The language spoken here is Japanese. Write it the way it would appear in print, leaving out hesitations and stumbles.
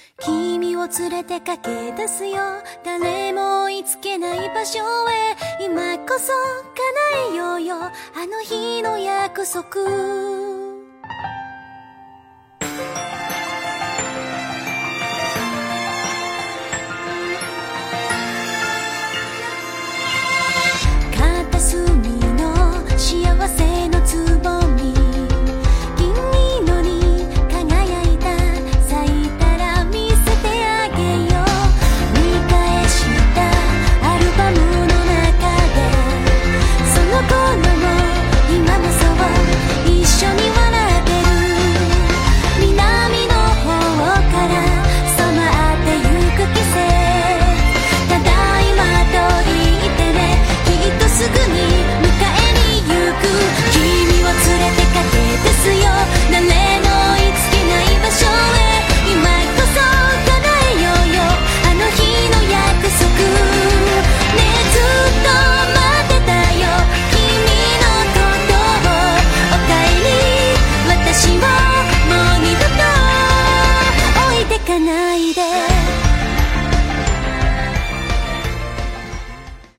君を連れて駆け出すよ、誰も追いつけない場所へ。今こそ叶えようよ、あの日の約束。片隅の幸せのつぼみ、銀色に輝いた、咲いたら見せてあげよう。見返したアルバムの中で、その頃も今もそう一緒に笑ってる。南の方から染まってゆく季節、ただいまと言ってね、きっとすぐに迎えに行く。君を連れて駆け出すよ、誰の追いつけない場所へ。今こそ叶えようよ、あの日の約束。ねえずっと待ってたよ、君のことを。おかえり、私をもう二度と置いてかないで。